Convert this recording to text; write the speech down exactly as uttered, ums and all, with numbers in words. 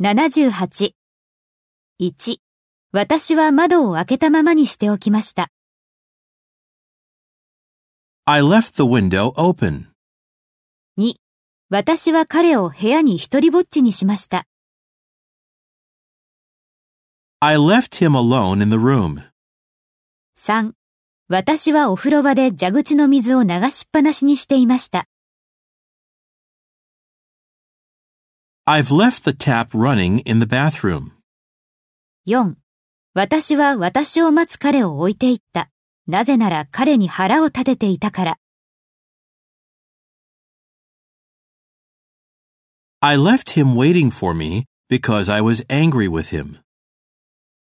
ななじゅうはち。いち、私は窓を開けたままにしておきました。 I left the window open. に、私は彼を部屋に一人ぼっちにしました。 I left him alone in the room. さん、私はお風呂場で蛇口の水を流しっぱなしにしていました。 I've left the tap running in the bathroom. よん、私は私を待つ彼を置いていった。なぜなら彼に腹を立てていたから。 I left him waiting for me because I was angry with him.